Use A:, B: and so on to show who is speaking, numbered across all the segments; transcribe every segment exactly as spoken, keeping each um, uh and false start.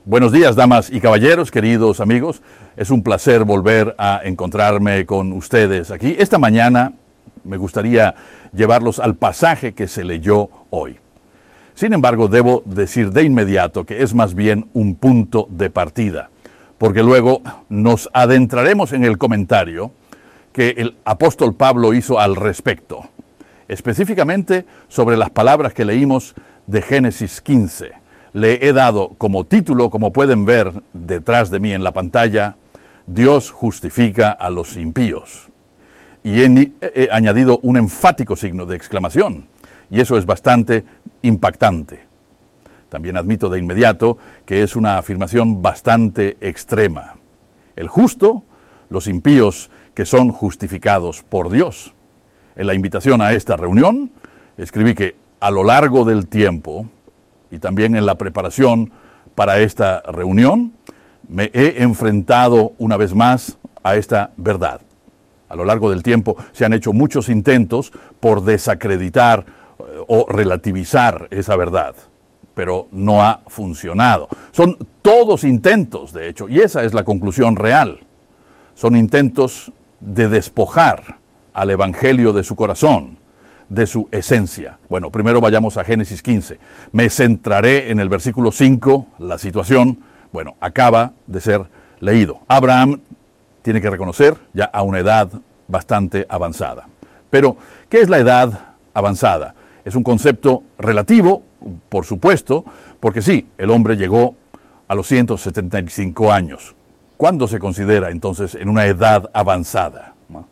A: Buenos días, damas y caballeros, queridos amigos. Es un placer volver a encontrarme con ustedes aquí. Esta mañana me gustaría llevarlos al pasaje que se leyó hoy. Sin embargo, debo decir de inmediato que es más bien un punto de partida, porque luego nos adentraremos en el comentario que el apóstol Pablo hizo al respecto, específicamente sobre las palabras que leímos de Génesis quince. Le he dado como título, como pueden ver detrás de mí en la pantalla, Dios justifica a los impíos. Y he, he añadido un enfático signo de exclamación, y eso es bastante impactante. También admito de inmediato que es una afirmación bastante extrema. El justo, los impíos que son justificados por Dios. En la invitación a esta reunión, escribí que a lo largo del tiempo, y también en la preparación para esta reunión, me he enfrentado una vez más a esta verdad. A lo largo del tiempo se han hecho muchos intentos por desacreditar o relativizar esa verdad, pero no ha funcionado. Son todos intentos, de hecho, y esa es la conclusión real. Son intentos de despojar al Evangelio de su corazón, de su esencia. Bueno, primero vayamos a Génesis quince. Me centraré en el versículo cinco, la situación, bueno, acaba de ser leído. Abraham tiene que reconocer ya a una edad bastante avanzada. Pero, ¿qué es la edad avanzada? Es un concepto relativo, por supuesto, porque sí, el hombre llegó a los ciento setenta y cinco años. ¿Cuándo se considera entonces en una edad avanzada?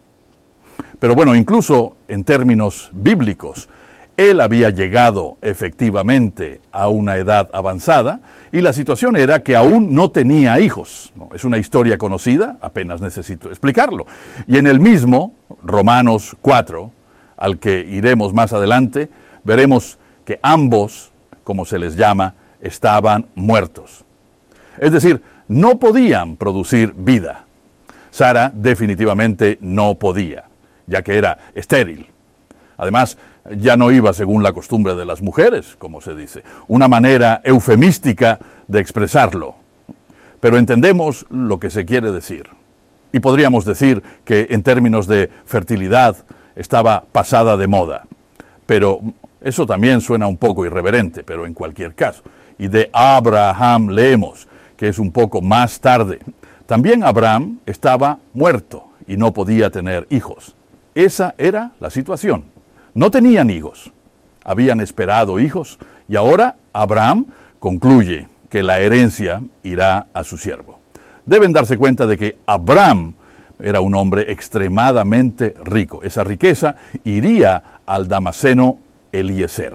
A: Pero bueno, incluso en términos bíblicos, él había llegado efectivamente a una edad avanzada y la situación era que aún no tenía hijos. ¿No? Es una historia conocida, apenas necesito explicarlo. Y en el mismo, Romanos cuatro, al que iremos más adelante, veremos que ambos, como se les llama, estaban muertos. Es decir, no podían producir vida. Sara definitivamente no podía, ya que era estéril. Además, ya no iba según la costumbre de las mujeres, como se dice, una manera eufemística de expresarlo. Pero entendemos lo que se quiere decir. Y podríamos decir que en términos de fertilidad estaba pasada de moda. Pero eso también suena un poco irreverente, pero en cualquier caso. Y de Abraham leemos, que es un poco más tarde. También Abraham estaba muerto y no podía tener hijos. Esa era la situación. No tenían hijos, habían esperado hijos y ahora Abraham concluye que la herencia irá a su siervo. Deben darse cuenta de que Abraham era un hombre extremadamente rico. Esa riqueza iría al damaseno Eliezer.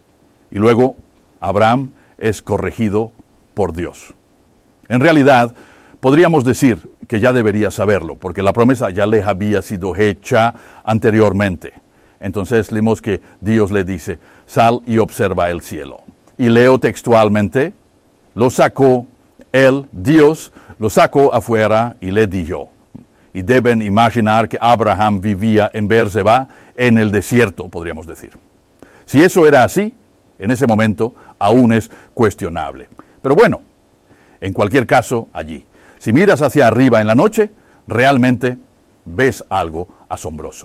A: Y luego Abraham es corregido por Dios. En realidad, podríamos decir que ya debería saberlo, porque la promesa ya le había sido hecha anteriormente. Entonces leemos que Dios le dice, sal y observa el cielo. Y leo textualmente, lo sacó él, Dios, lo sacó afuera y le dijo. Y deben imaginar que Abraham vivía en Beerseba, en el desierto, podríamos decir. Si eso era así, en ese momento aún es cuestionable. Pero bueno, en cualquier caso, allí. Si miras hacia arriba en la noche, realmente ves algo asombroso.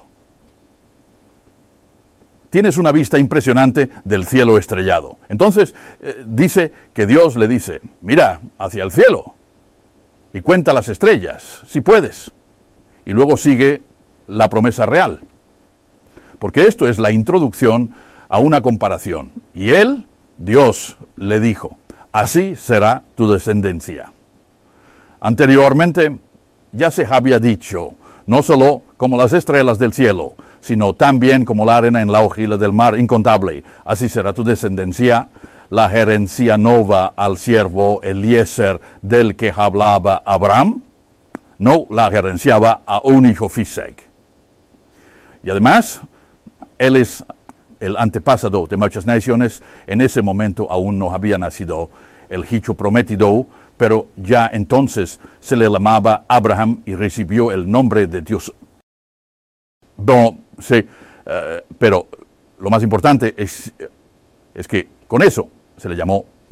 A: Tienes una vista impresionante del cielo estrellado. Entonces, eh, dice que Dios le dice, mira hacia el cielo y cuenta las estrellas, si puedes. Y luego sigue la promesa real. Porque esto es la introducción a una comparación. Y él, Dios, le dijo, así será tu descendencia. Anteriormente ya se había dicho, no solo como las estrellas del cielo, sino también como la arena en la hojilla del mar incontable. Así será tu descendencia. La herencia no va al siervo Eliezer del que hablaba Abraham. No, la herencia va a un hijo Fisec. Y además, él es el antepasado de muchas naciones. En ese momento aún no había nacido el hijo prometido, pero ya entonces se le llamaba Abraham y recibió el nombre de Dios. No, sí, uh, pero lo más importante es, es que con eso se le llamó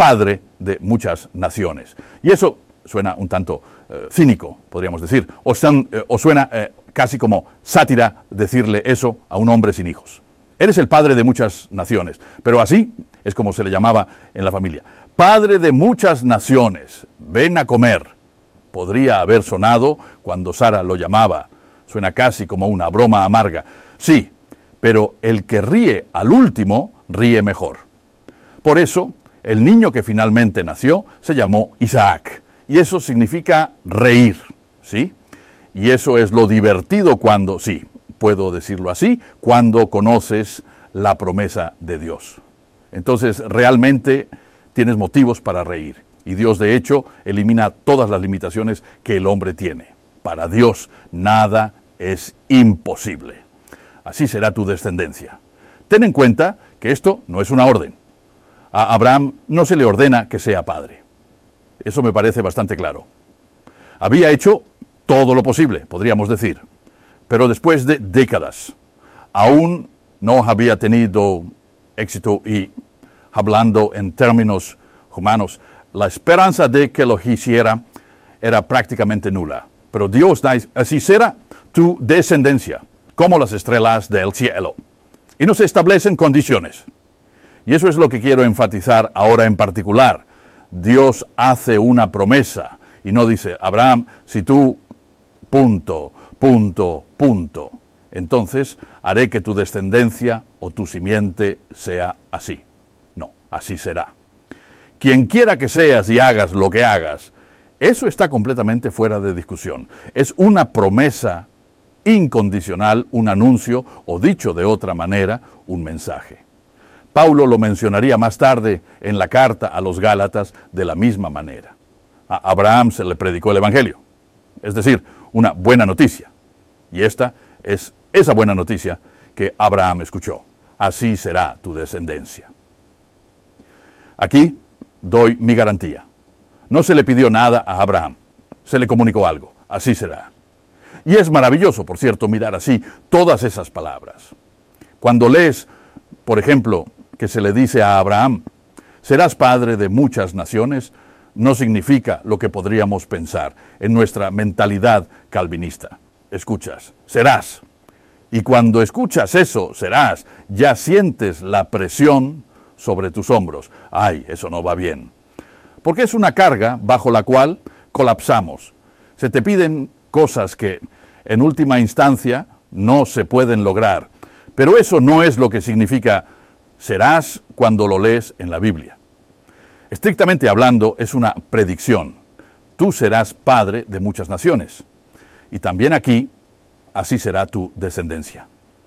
A: padre de muchas naciones. Y eso suena un tanto eh, cínico, podríamos decir, o, son, eh, o suena eh, casi como sátira decirle eso a un hombre sin hijos. Eres el padre de muchas naciones, pero así es como se le llamaba en la familia. Padre de muchas naciones, ven a comer. Podría haber sonado cuando Sara lo llamaba. Suena casi como una broma amarga. Sí, pero el que ríe al último, ríe mejor. Por eso, el niño que finalmente nació se llamó Isaac. Y eso significa reír, ¿sí? Y eso es lo divertido cuando, sí, puedo decirlo así, cuando conoces la promesa de Dios. Entonces, realmente tienes motivos para reír. Y Dios, de hecho, elimina todas las limitaciones que el hombre tiene. Para Dios, nada es imposible. Así será tu descendencia. Ten en cuenta que esto no es una orden. A Abraham no se le ordena que sea padre. Eso me parece bastante claro. Había hecho todo lo posible, podríamos decir. Pero después de décadas, aún no había tenido éxito y, hablando en términos humanos, la esperanza de que lo hiciera era prácticamente nula. Pero Dios dice, así será tu descendencia, como las estrellas del cielo. Y nos establecen condiciones. Y eso es lo que quiero enfatizar ahora en particular. Dios hace una promesa y no dice, Abraham, si tú, punto, punto, punto, entonces haré que tu descendencia o tu simiente sea así. No, así será. Quien quiera que seas y hagas lo que hagas, eso está completamente fuera de discusión. Es una promesa incondicional, un anuncio, o dicho de otra manera, un mensaje. Pablo lo mencionaría más tarde en la carta a los Gálatas de la misma manera. A Abraham se le predicó el Evangelio, es decir, una buena noticia. Y esta es esa buena noticia que Abraham escuchó. Así será tu descendencia. Aquí doy mi garantía. No se le pidió nada a Abraham, se le comunicó algo. Así será. Y es maravilloso, por cierto, mirar así todas esas palabras. Cuando lees, por ejemplo, que se le dice a Abraham, serás padre de muchas naciones, no significa lo que podríamos pensar en nuestra mentalidad calvinista. Escuchas, serás. Y cuando escuchas eso, serás, ya sientes la presión sobre tus hombros. Ay, eso no va bien. Porque es una carga bajo la cual colapsamos. Se te piden cosas que en última instancia no se pueden lograr. Pero eso no es lo que significa serás cuando lo lees en la Biblia. Estrictamente hablando, es una predicción. Tú serás padre de muchas naciones. Y también aquí, así será tu descendencia.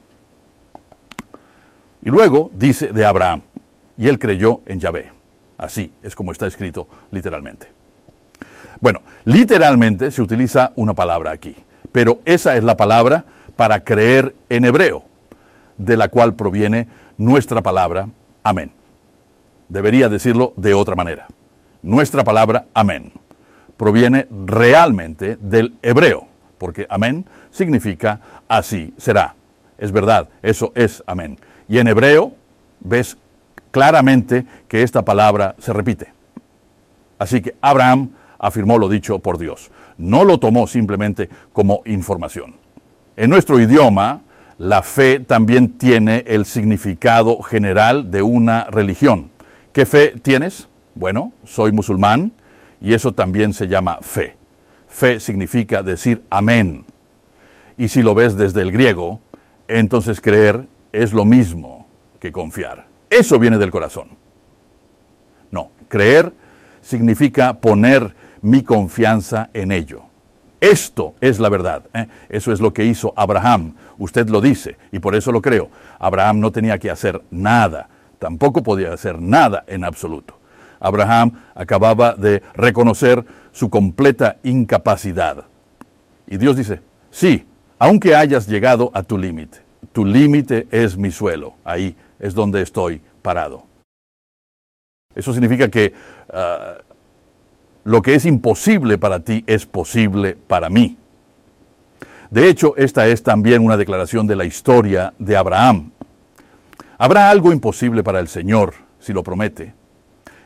A: Y luego dice de Abraham, y él creyó en Yahvé. Así es como está escrito literalmente. Bueno, literalmente se utiliza una palabra aquí, pero esa es la palabra para creer en hebreo, de la cual proviene nuestra palabra amén. Debería decirlo de otra manera. Nuestra palabra amén proviene realmente del hebreo, porque amén significa así será. Es verdad, eso es amén. Y en hebreo ves claramente que esta palabra se repite. Así que Abraham afirmó lo dicho por Dios. No lo tomó simplemente como información. En nuestro idioma, la fe también tiene el significado general de una religión. ¿Qué fe tienes? Bueno, soy musulmán y eso también se llama fe. Fe significa decir amén. Y si lo ves desde el griego, entonces creer es lo mismo que confiar. Eso viene del corazón. No, creer significa poner mi confianza en ello. Esto es la verdad. ¿eh? Eso es lo que hizo Abraham. Usted lo dice y por eso lo creo. Abraham no tenía que hacer nada. Tampoco podía hacer nada en absoluto. Abraham acababa de reconocer su completa incapacidad. Y Dios dice, sí, aunque hayas llegado a tu límite, tu límite es mi suelo. Ahí es donde estoy parado. Eso significa que uh, lo que es imposible para ti es posible para mí. De hecho, esta es también una declaración de la historia de Abraham. ¿Habrá algo imposible para el Señor si lo promete?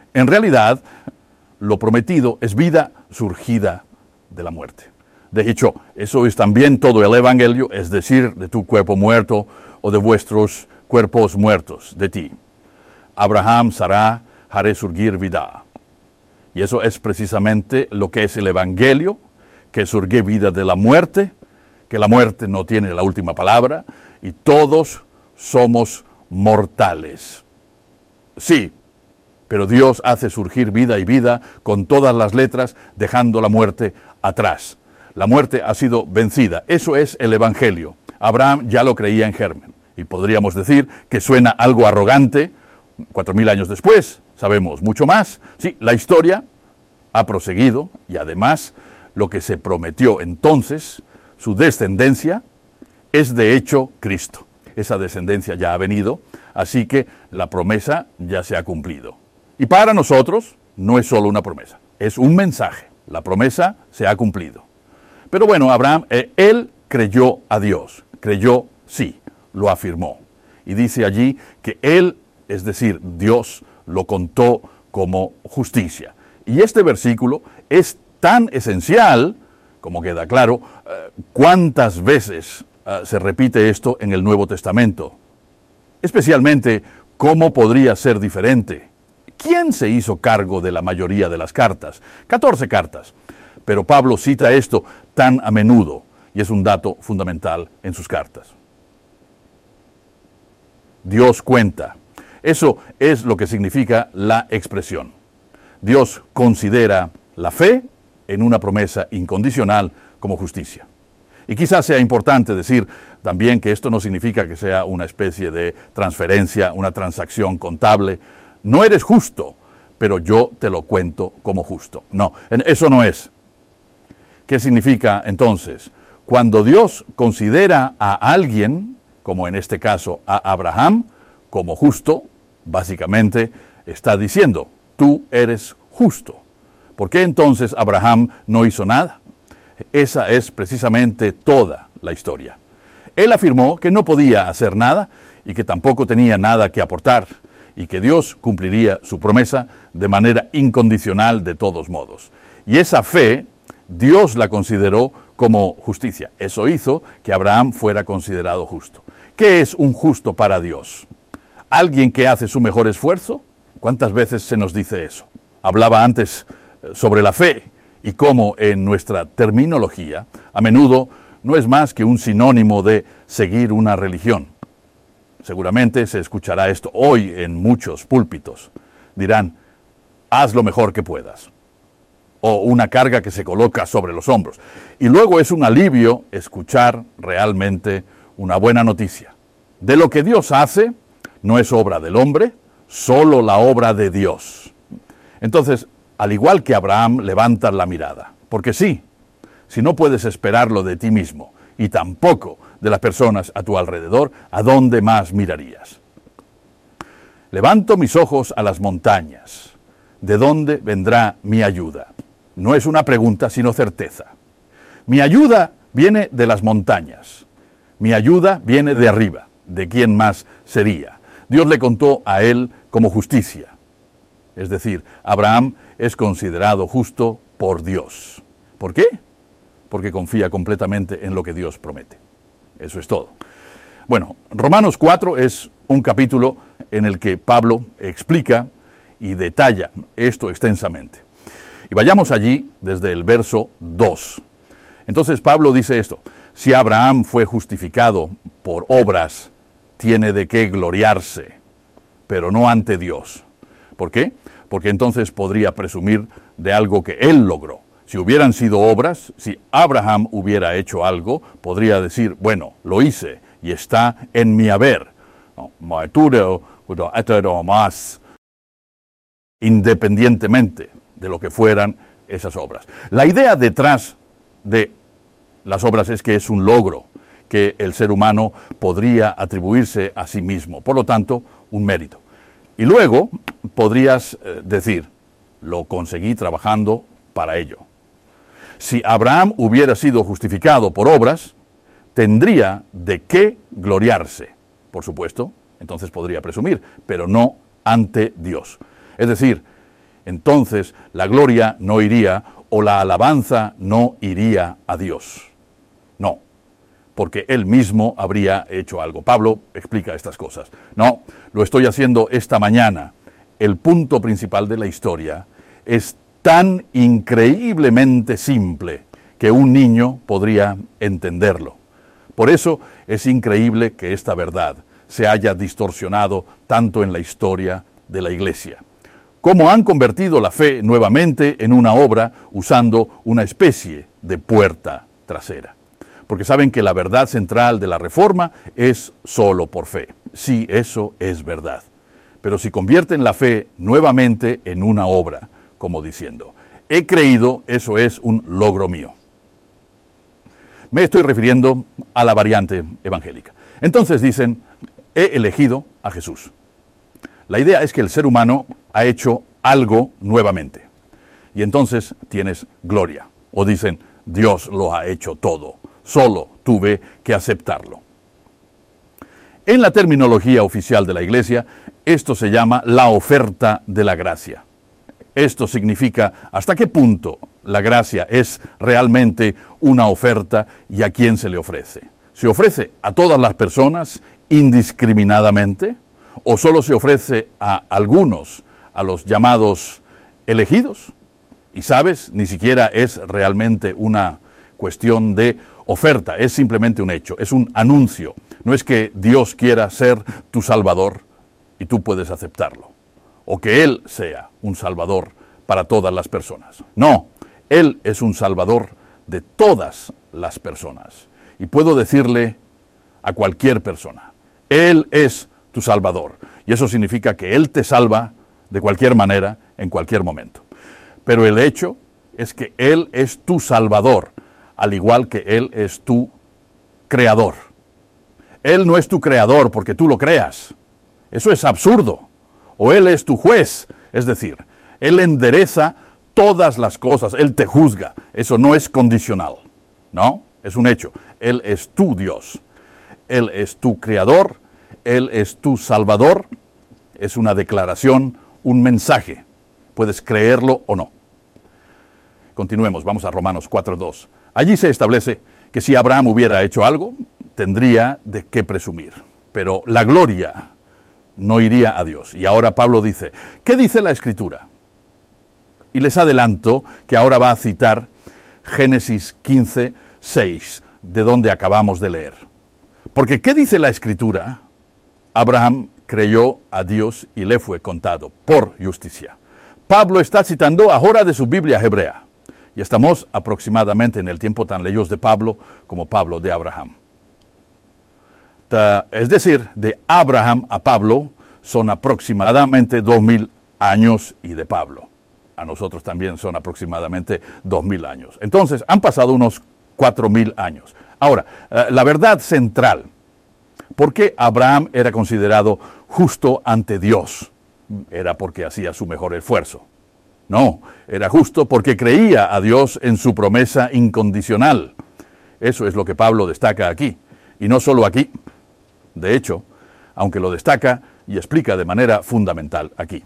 A: En realidad, lo prometido es vida surgida de la muerte. De hecho, eso es también todo el Evangelio, es decir, de tu cuerpo muerto o de vuestros cuerpos muertos, de ti. Abraham, Sará, haré surgir vida. Y eso es precisamente lo que es el Evangelio, que surge vida de la muerte, que la muerte no tiene la última palabra, y todos somos mortales. Sí, pero Dios hace surgir vida y vida con todas las letras, dejando la muerte atrás. La muerte ha sido vencida. Eso es el Evangelio. Abraham ya lo creía en germen. Y podríamos decir que suena algo arrogante. Cuatro mil años después, sabemos mucho más. Sí, la historia ha proseguido y además lo que se prometió entonces, su descendencia, es de hecho Cristo. Esa descendencia ya ha venido, así que la promesa ya se ha cumplido. Y para nosotros no es solo una promesa, es un mensaje. La promesa se ha cumplido. Pero bueno, Abraham, eh, él creyó a Dios, creyó sí, lo afirmó. Y dice allí que él, es decir, Dios, lo contó como justicia. Y este versículo es tan esencial, como queda claro, eh, cuántas veces eh, se repite esto en el Nuevo Testamento. Especialmente, ¿cómo podría ser diferente? ¿Quién se hizo cargo de la mayoría de las cartas? catorce cartas. Pero Pablo cita esto tan a menudo, y es un dato fundamental en sus cartas. Dios cuenta. Eso es lo que significa la expresión. Dios considera la fe en una promesa incondicional como justicia. Y quizás sea importante decir también que esto no significa que sea una especie de transferencia, una transacción contable. No eres justo, pero yo te lo cuento como justo. No, eso no es. ¿Qué significa entonces? Cuando Dios considera a alguien, como en este caso a Abraham, como justo, básicamente está diciendo, tú eres justo. ¿Por qué entonces Abraham no hizo nada? Esa es precisamente toda la historia. Él afirmó que no podía hacer nada y que tampoco tenía nada que aportar y que Dios cumpliría su promesa de manera incondicional de todos modos. Y esa fe, Dios la consideró como justicia. Eso hizo que Abraham fuera considerado justo. ¿Qué es un justo para Dios? ¿Alguien que hace su mejor esfuerzo? ¿Cuántas veces se nos dice eso? Hablaba antes sobre la fe y cómo en nuestra terminología a menudo no es más que un sinónimo de seguir una religión. Seguramente se escuchará esto hoy en muchos púlpitos. Dirán, haz lo mejor que puedas. O una carga que se coloca sobre los hombros. Y luego es un alivio escuchar realmente una buena noticia. De lo que Dios hace, no es obra del hombre, solo la obra de Dios. Entonces, al igual que Abraham, levanta la mirada. Porque sí, si no puedes esperarlo de ti mismo y tampoco de las personas a tu alrededor, ¿a dónde más mirarías? Levanto mis ojos a las montañas. ¿De dónde vendrá mi ayuda? No es una pregunta, sino certeza. Mi ayuda viene de las montañas. Mi ayuda viene de arriba. ¿De quién más sería? Dios le contó a él como justicia. Es decir, Abraham es considerado justo por Dios. ¿Por qué? Porque confía completamente en lo que Dios promete. Eso es todo. Bueno, Romanos cuatro es un capítulo en el que Pablo explica y detalla esto extensamente. Y vayamos allí desde el verso dos. Entonces Pablo dice esto: si Abraham fue justificado por obras, tiene de qué gloriarse, pero no ante Dios. ¿Por qué? Porque entonces podría presumir de algo que él logró. Si hubieran sido obras, si Abraham hubiera hecho algo, podría decir, bueno, lo hice y está en mi haber. Más independientemente de lo que fueran esas obras. La idea detrás de las obras es que es un logro que el ser humano podría atribuirse a sí mismo, por lo tanto, un mérito. Y luego podrías eh, decir, lo conseguí trabajando para ello. Si Abraham hubiera sido justificado por obras, tendría de qué gloriarse, por supuesto, entonces podría presumir, pero no ante Dios. Es decir, entonces la gloria no iría o la alabanza no iría a Dios. No, porque Él mismo habría hecho algo. Pablo explica estas cosas. No, lo estoy haciendo esta mañana. El punto principal de la historia es tan increíblemente simple que un niño podría entenderlo. Por eso es increíble que esta verdad se haya distorsionado tanto en la historia de la Iglesia. Cómo han convertido la fe nuevamente en una obra usando una especie de puerta trasera. Porque saben que la verdad central de la Reforma es solo por fe. Sí, eso es verdad. Pero si convierten la fe nuevamente en una obra, como diciendo, he creído, eso es un logro mío. Me estoy refiriendo a la variante evangélica. Entonces dicen, he elegido a Jesús. La idea es que el ser humano ha hecho algo nuevamente. Y entonces tienes gloria. O dicen, Dios lo ha hecho todo. Solo tuve que aceptarlo. En la terminología oficial de la Iglesia, esto se llama la oferta de la gracia. Esto significa hasta qué punto la gracia es realmente una oferta y a quién se le ofrece. ¿Se ofrece a todas las personas indiscriminadamente o solo se ofrece a algunos, a los llamados elegidos? Y sabes, ni siquiera es realmente una cuestión de oferta, es simplemente un hecho, es un anuncio. No es que Dios quiera ser tu Salvador y tú puedes aceptarlo, o que Él sea un Salvador para todas las personas. No, Él es un Salvador de todas las personas. Y puedo decirle a cualquier persona, Él es tu Salvador. Y eso significa que Él te salva de cualquier manera, en cualquier momento. Pero el hecho es que Él es tu Salvador, al igual que Él es tu Creador. Él no es tu Creador porque tú lo creas. Eso es absurdo. O Él es tu juez, es decir, Él endereza todas las cosas, Él te juzga. Eso no es condicional, ¿no? Es un hecho. Él es tu Dios. Él es tu Creador. Él es tu Salvador. Es una declaración, un mensaje. Puedes creerlo o no. Continuemos, vamos a Romanos cuatro dos. Allí se establece que si Abraham hubiera hecho algo, tendría de qué presumir. Pero la gloria no iría a Dios. Y ahora Pablo dice, ¿qué dice la Escritura? Y les adelanto que ahora va a citar Génesis quince seis, de donde acabamos de leer. Porque ¿qué dice la Escritura? Abraham creyó a Dios y le fue contado por justicia. Pablo está citando ahora de su Biblia hebrea. Y estamos aproximadamente en el tiempo tan lejos de Pablo como Pablo de Abraham. Es decir, de Abraham a Pablo son aproximadamente dos mil años y de Pablo a nosotros también son aproximadamente dos mil años. Entonces, han pasado unos cuatro mil años. Ahora, la verdad central, ¿por qué Abraham era considerado justo ante Dios? Era porque hacía su mejor esfuerzo. No, era justo porque creía a Dios en su promesa incondicional. Eso es lo que Pablo destaca aquí. Y no solo aquí. De hecho, aunque lo destaca y explica de manera fundamental aquí.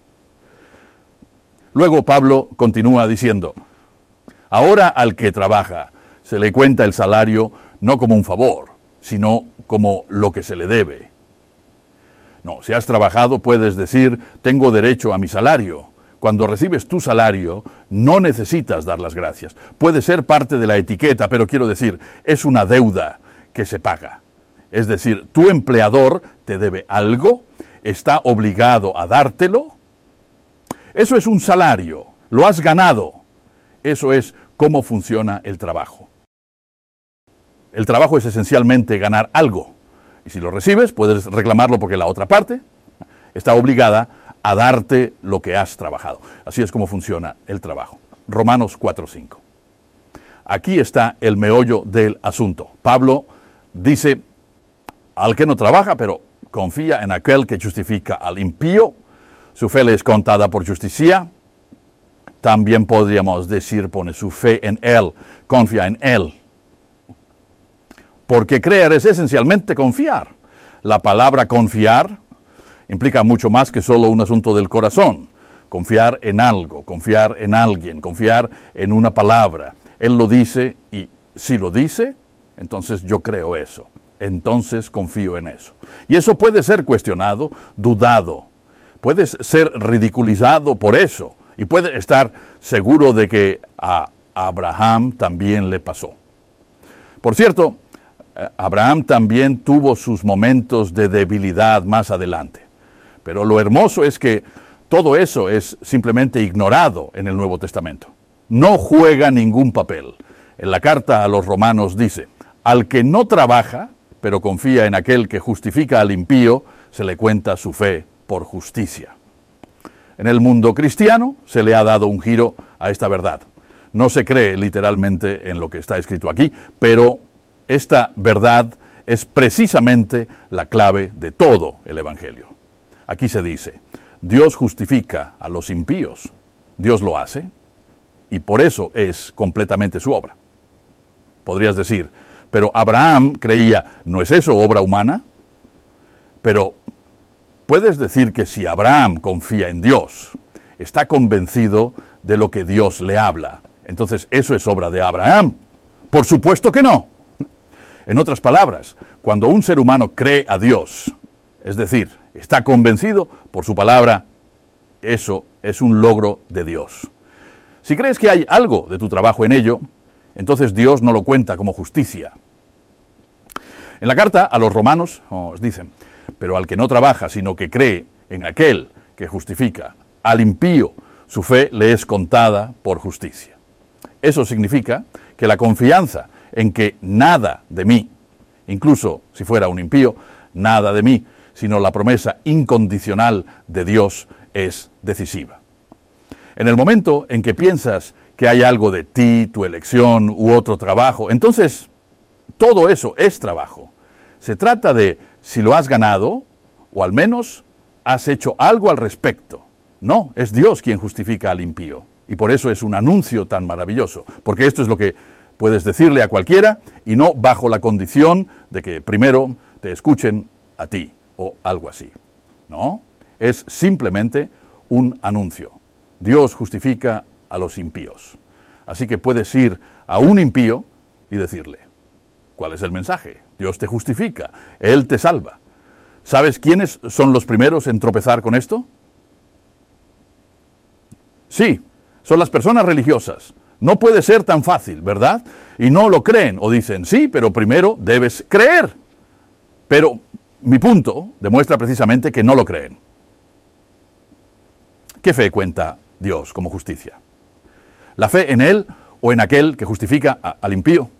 A: Luego Pablo continúa diciendo, ahora al que trabaja se le cuenta el salario no como un favor, sino como lo que se le debe. No, si has trabajado puedes decir, tengo derecho a mi salario. Cuando recibes tu salario, no necesitas dar las gracias. Puede ser parte de la etiqueta, pero quiero decir, es una deuda que se paga. Es decir, tu empleador te debe algo, está obligado a dártelo. Eso es un salario, lo has ganado. Eso es cómo funciona el trabajo. El trabajo es esencialmente ganar algo. Y si lo recibes, puedes reclamarlo porque la otra parte está obligada a darte lo que has trabajado. Así es como funciona el trabajo. Romanos cuatro cinco. Aquí está el meollo del asunto. Pablo dice, al que no trabaja, pero confía en aquel que justifica al impío, su fe le es contada por justicia. También podríamos decir, pone su fe en él, confía en él. Porque creer es esencialmente confiar. La palabra confiar implica mucho más que solo un asunto del corazón. confiar en algo, confiar en alguien, confiar en una palabra. Él lo dice y si lo dice, entonces yo creo eso. Entonces confío en eso. Y eso puede ser cuestionado, dudado. Puedes ser ridiculizado por eso. Y puede estar seguro de que a Abraham también le pasó. Por cierto, Abraham también tuvo sus momentos de debilidad más adelante. Pero lo hermoso es que todo eso es simplemente ignorado en el Nuevo Testamento. No juega ningún papel. En la carta a los Romanos dice, al que no trabaja, pero confía en aquel que justifica al impío, se le cuenta su fe por justicia. En el mundo cristiano se le ha dado un giro a esta verdad. No se cree literalmente en lo que está escrito aquí, pero esta verdad es precisamente la clave de todo el Evangelio. Aquí se dice, Dios justifica a los impíos. Dios lo hace y por eso es completamente su obra. Podrías decir, pero Abraham creía, ¿no es eso obra humana? Pero puedes decir que si Abraham confía en Dios, está convencido de lo que Dios le habla, entonces eso es obra de Abraham. Por supuesto que no. En otras palabras, cuando un ser humano cree a Dios, es decir, está convencido por su palabra, eso es un logro de Dios. Si crees que hay algo de tu trabajo en ello, entonces Dios no lo cuenta como justicia. En la carta a los romanos os dicen, pero al que no trabaja, sino que cree en aquel que justifica al impío, su fe le es contada por justicia. Eso significa que la confianza en que nada de mí, incluso si fuera un impío, nada de mí, sino la promesa incondicional de Dios es decisiva. En el momento en que piensas que hay algo de ti, tu elección u otro trabajo, entonces todo eso es trabajo. Se trata de si lo has ganado o al menos has hecho algo al respecto. No, es Dios quien justifica al impío. Y por eso es un anuncio tan maravilloso, porque esto es lo que puedes decirle a cualquiera y no bajo la condición de que primero te escuchen a ti o algo así. No, es simplemente un anuncio. Dios justifica a los impíos. Así que puedes ir a un impío y decirle, ¿cuál es el mensaje? Dios te justifica, Él te salva. ¿Sabes quiénes son los primeros en tropezar con esto? Sí, son las personas religiosas. No puede ser tan fácil, ¿verdad? Y no lo creen o dicen, sí, pero primero debes creer. Pero mi punto demuestra precisamente que no lo creen. ¿Qué fe cuenta Dios como justicia? ¿La fe en Él o en aquel que justifica a, al impío?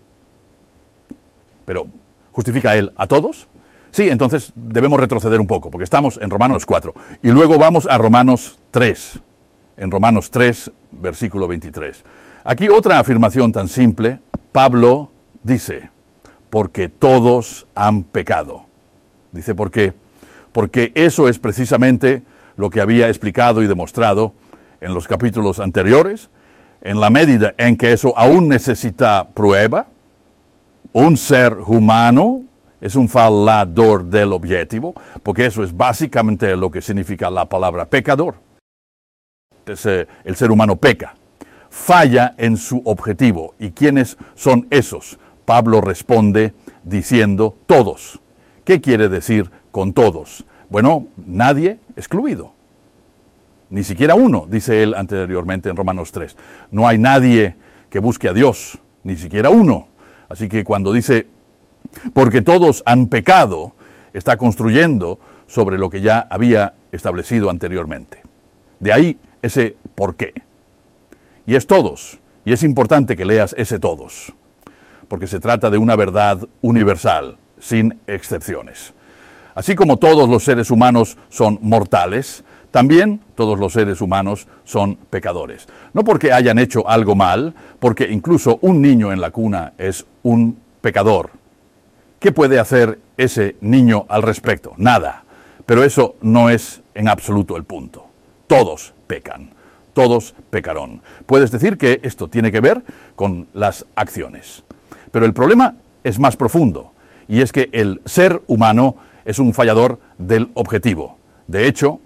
A: Pero, ¿justifica a Él a todos? Sí, entonces debemos retroceder un poco, porque estamos en Romanos cuatro. Y luego vamos a Romanos tres. En Romanos tres, versículo veintitrés. Aquí otra afirmación tan simple. Pablo dice, porque todos han pecado. Dice, ¿por qué? Porque eso es precisamente lo que había explicado y demostrado en los capítulos anteriores. En la medida en que eso aún necesita prueba, un ser humano es un fallador del objetivo, porque eso es básicamente lo que significa la palabra pecador. Es, eh, el ser humano peca, falla en su objetivo. ¿Y quiénes son esos? Pablo responde diciendo todos. ¿Qué quiere decir con todos? Bueno, nadie excluido. Ni siquiera uno, dice él anteriormente en Romanos tres. No hay nadie que busque a Dios, ni siquiera uno. Así que cuando dice, porque todos han pecado, está construyendo sobre lo que ya había establecido anteriormente. De ahí ese por qué. Y es todos. Y es importante que leas ese todos, porque se trata de una verdad universal, sin excepciones. Así como todos los seres humanos son mortales, también todos los seres humanos son pecadores. No porque hayan hecho algo mal, porque incluso un niño en la cuna es un pecador. ¿Qué puede hacer ese niño al respecto? Nada. Pero eso no es en absoluto el punto. Todos pecan. Todos pecaron. Puedes decir que esto tiene que ver con las acciones. Pero el problema es más profundo, y es que el ser humano es un fallador del objetivo. De hecho,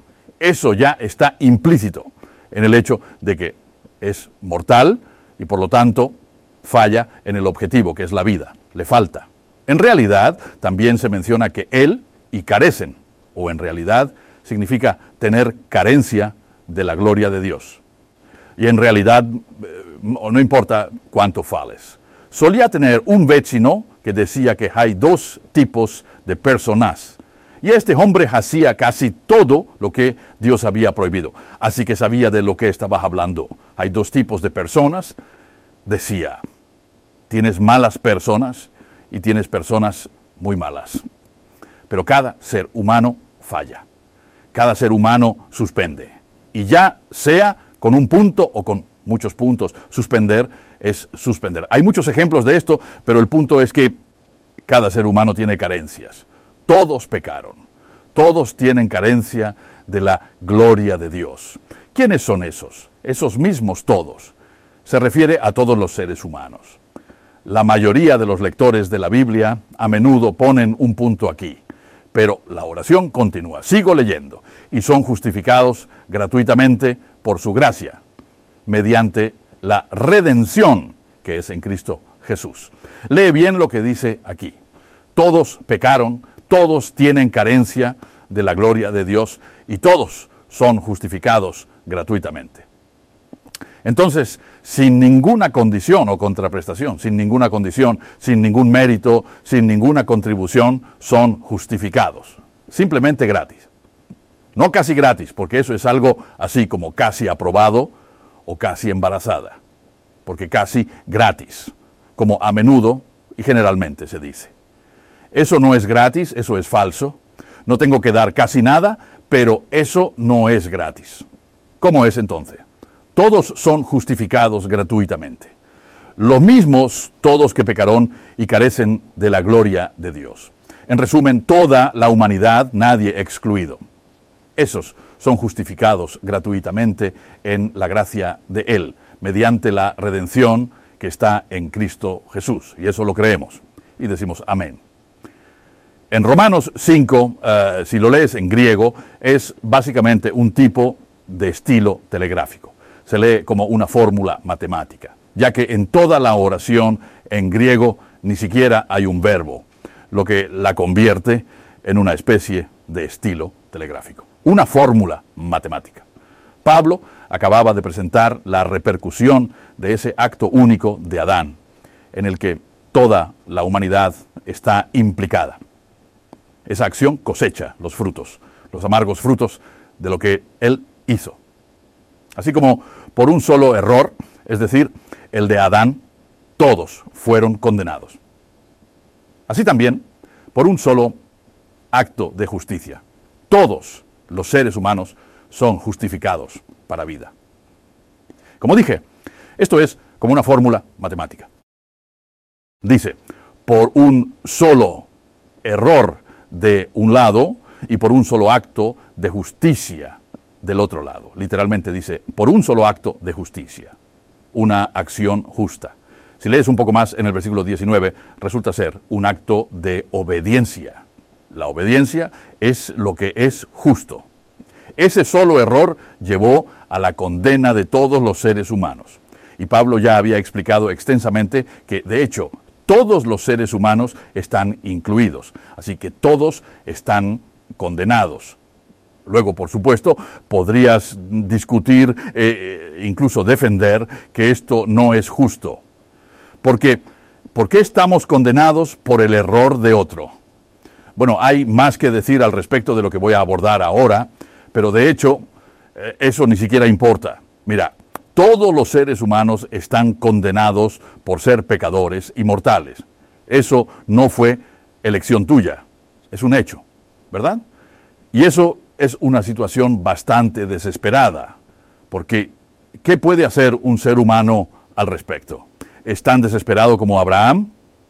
A: Eso ya está implícito en el hecho de que es mortal y por lo tanto falla en el objetivo, que es la vida, le falta. En realidad también se menciona que él y carecen, o en realidad significa tener carencia de la gloria de Dios. Y en realidad no importa cuánto fales. Solía tener un vecino que decía que hay dos tipos de personas. Y este hombre hacía casi todo lo que Dios había prohibido. Así que sabía de lo que estaba hablando. Hay dos tipos de personas, decía. Tienes malas personas y tienes personas muy malas. Pero cada ser humano falla. Cada ser humano suspende. Y ya sea con un punto o con muchos puntos, suspender es suspender. Hay muchos ejemplos de esto, pero el punto es que cada ser humano tiene carencias. Todos pecaron. Todos tienen carencia de la gloria de Dios. ¿Quiénes son esos? Esos mismos todos. Se refiere a todos los seres humanos. La mayoría de los lectores de la Biblia a menudo ponen un punto aquí. Pero la oración continúa. Sigo leyendo. Y son justificados gratuitamente por su gracia, mediante la redención que es en Cristo Jesús. Lee bien lo que dice aquí. Todos pecaron, todos tienen carencia de la gloria de Dios y todos son justificados gratuitamente. Entonces, sin ninguna condición o contraprestación, sin ninguna condición, sin ningún mérito, sin ninguna contribución, son justificados. Simplemente gratis. No casi gratis, porque eso es algo así como casi aprobado o casi embarazada. Porque casi gratis, como a menudo y generalmente se dice. Eso no es gratis, eso es falso. No tengo que dar casi nada, pero eso no es gratis. ¿Cómo es entonces? Todos son justificados gratuitamente. Los mismos todos que pecaron y carecen de la gloria de Dios. En resumen, toda la humanidad, nadie excluido. Esos son justificados gratuitamente en la gracia de Él, mediante la redención que está en Cristo Jesús. Y eso lo creemos. Y decimos amén. En Romanos cinco, uh, si lo lees en griego, es básicamente un tipo de estilo telegráfico. Se lee como una fórmula matemática, ya que en toda la oración en griego ni siquiera hay un verbo, lo que la convierte en una especie de estilo telegráfico. Una fórmula matemática. Pablo acababa de presentar la repercusión de ese acto único de Adán, en el que toda la humanidad está implicada. Esa acción cosecha los frutos, los amargos frutos de lo que él hizo. Así como por un solo error, es decir, el de Adán, todos fueron condenados. Así también, por un solo acto de justicia, todos los seres humanos son justificados para vida. Como dije, esto es como una fórmula matemática. Dice, por un solo error de un lado y por un solo acto de justicia del otro lado. Literalmente dice, por un solo acto de justicia, una acción justa. Si lees un poco más en el versículo diecinueve, resulta ser un acto de obediencia. La obediencia es lo que es justo. Ese solo error llevó a la condena de todos los seres humanos. Y Pablo ya había explicado extensamente que, de hecho, todos los seres humanos están incluidos. Así que todos están condenados. Luego, por supuesto, podrías discutir, eh, incluso defender, que esto no es justo. Porque, ¿por qué estamos condenados por el error de otro? Bueno, hay más que decir al respecto de lo que voy a abordar ahora, pero de hecho, eh, eso ni siquiera importa. Mira, todos los seres humanos están condenados por ser pecadores y mortales. Eso no fue elección tuya, es un hecho, ¿verdad? Y eso es una situación bastante desesperada, porque ¿qué puede hacer un ser humano al respecto? ¿Es tan desesperado como Abraham,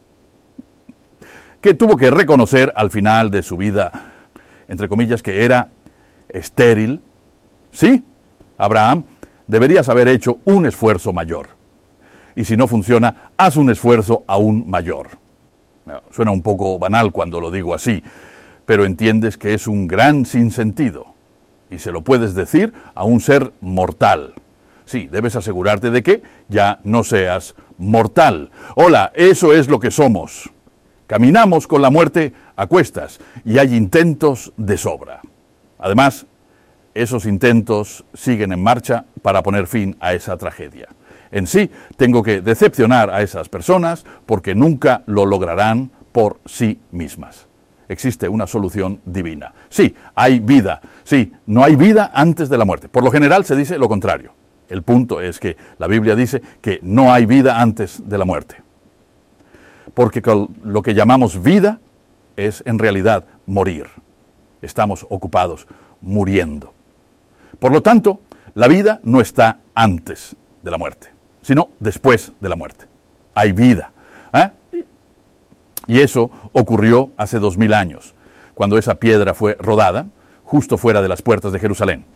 A: que tuvo que reconocer al final de su vida, entre comillas, que era estéril? Sí, Abraham, deberías haber hecho un esfuerzo mayor. Y si no funciona, haz un esfuerzo aún mayor. Suena un poco banal cuando lo digo así, pero entiendes que es un gran sinsentido. Y se lo puedes decir a un ser mortal. Sí, debes asegurarte de que ya no seas mortal. Hola, eso es lo que somos. Caminamos con la muerte a cuestas y hay intentos de sobra. Además, esos intentos siguen en marcha para poner fin a esa tragedia. En sí, tengo que decepcionar a esas personas porque nunca lo lograrán por sí mismas. Existe una solución divina. Sí, hay vida. Sí, no hay vida antes de la muerte. Por lo general se dice lo contrario. El punto es que la Biblia dice que no hay vida antes de la muerte. Porque lo que llamamos vida es en realidad morir. Estamos ocupados muriendo. Por lo tanto, la vida no está antes de la muerte, sino después de la muerte. Hay vida. ¿eh? Y eso ocurrió hace dos mil años, cuando esa piedra fue rodada justo fuera de las puertas de Jerusalén.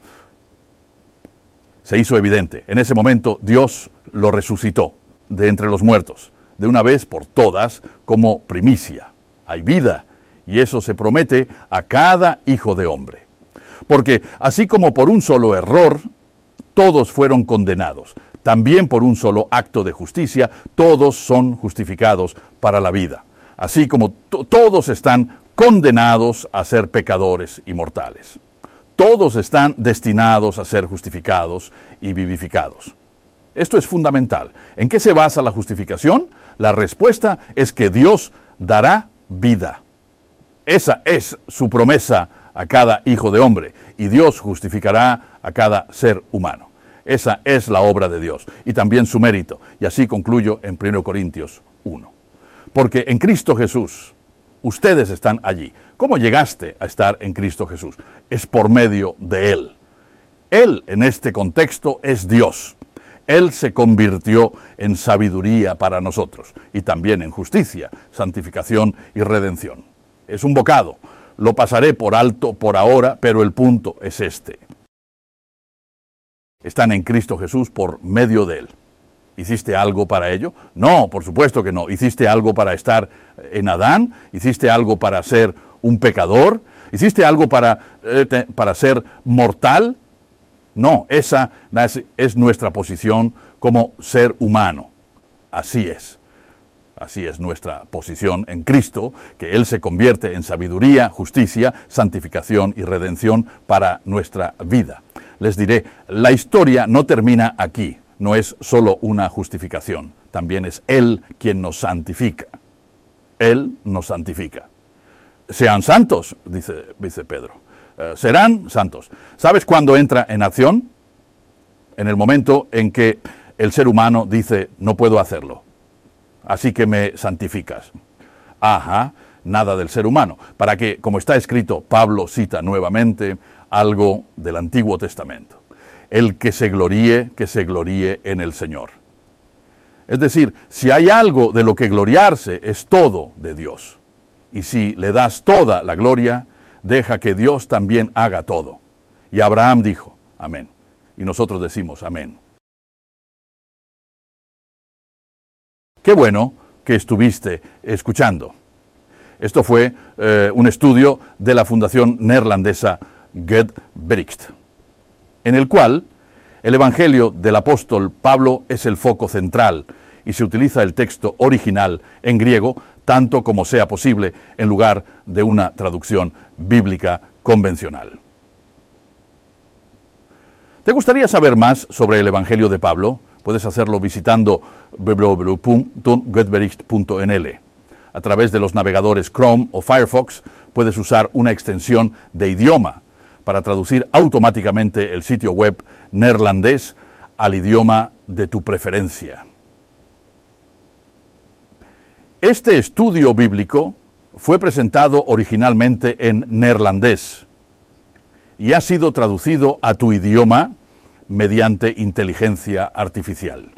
A: Se hizo evidente. En ese momento Dios lo resucitó de entre los muertos, de una vez por todas, como primicia. Hay vida, y eso se promete a cada hijo de hombre. Porque así como por un solo error, todos fueron condenados, también por un solo acto de justicia, todos son justificados para la vida. Así como to- todos están condenados a ser pecadores y mortales. Todos están destinados a ser justificados y vivificados. Esto es fundamental. ¿En qué se basa la justificación? La respuesta es que Dios dará vida. Esa es su promesa a cada hijo de hombre, y Dios justificará a cada ser humano. Esa es la obra de Dios, y también su mérito. Y así concluyo en primera Corintios uno. Porque en Cristo Jesús, ustedes están allí. ¿Cómo llegaste a estar en Cristo Jesús? Es por medio de Él. Él, en este contexto, es Dios. Él se convirtió en sabiduría para nosotros, y también en justicia, santificación y redención. Es un bocado. Lo pasaré por alto por ahora, pero el punto es este. Están en Cristo Jesús por medio de Él. ¿Hiciste algo para ello? No, por supuesto que no. ¿Hiciste algo para estar en Adán? ¿Hiciste algo para ser un pecador? ¿Hiciste algo para, eh, te, para ser mortal? No, esa es, es nuestra posición como ser humano. Así es. Así es nuestra posición en Cristo, que Él se convierte en sabiduría, justicia, santificación y redención para nuestra vida. Les diré, la historia no termina aquí. No es solo una justificación, también es Él quien nos santifica. Él nos santifica. Sean santos, dice, dice Pedro. Eh, serán santos. ¿Sabes cuándo entra en acción? En el momento en que el ser humano dice, no puedo hacerlo, así que me santificas. Ajá, nada del ser humano. Para que, como está escrito, Pablo cita nuevamente algo del Antiguo Testamento. El que se gloríe, que se gloríe en el Señor. Es decir, si hay algo de lo que gloriarse, es todo de Dios. Y si le das toda la gloria, deja que Dios también haga todo. Y Abraham dijo, amén. Y nosotros decimos, amén. Qué bueno que estuviste escuchando. Esto fue eh, un estudio de la fundación neerlandesa Gedbericht, en el cual el Evangelio del apóstol Pablo es el foco central y se utiliza el texto original en griego tanto como sea posible en lugar de una traducción bíblica convencional. ¿Te gustaría saber más sobre el Evangelio de Pablo? Puedes hacerlo visitando w w w punto gedbericht punto n l. A través de los navegadores Chrome o Firefox puedes usar una extensión de idioma para traducir automáticamente el sitio web neerlandés al idioma de tu preferencia. Este estudio bíblico fue presentado originalmente en neerlandés y ha sido traducido a tu idioma mediante inteligencia artificial.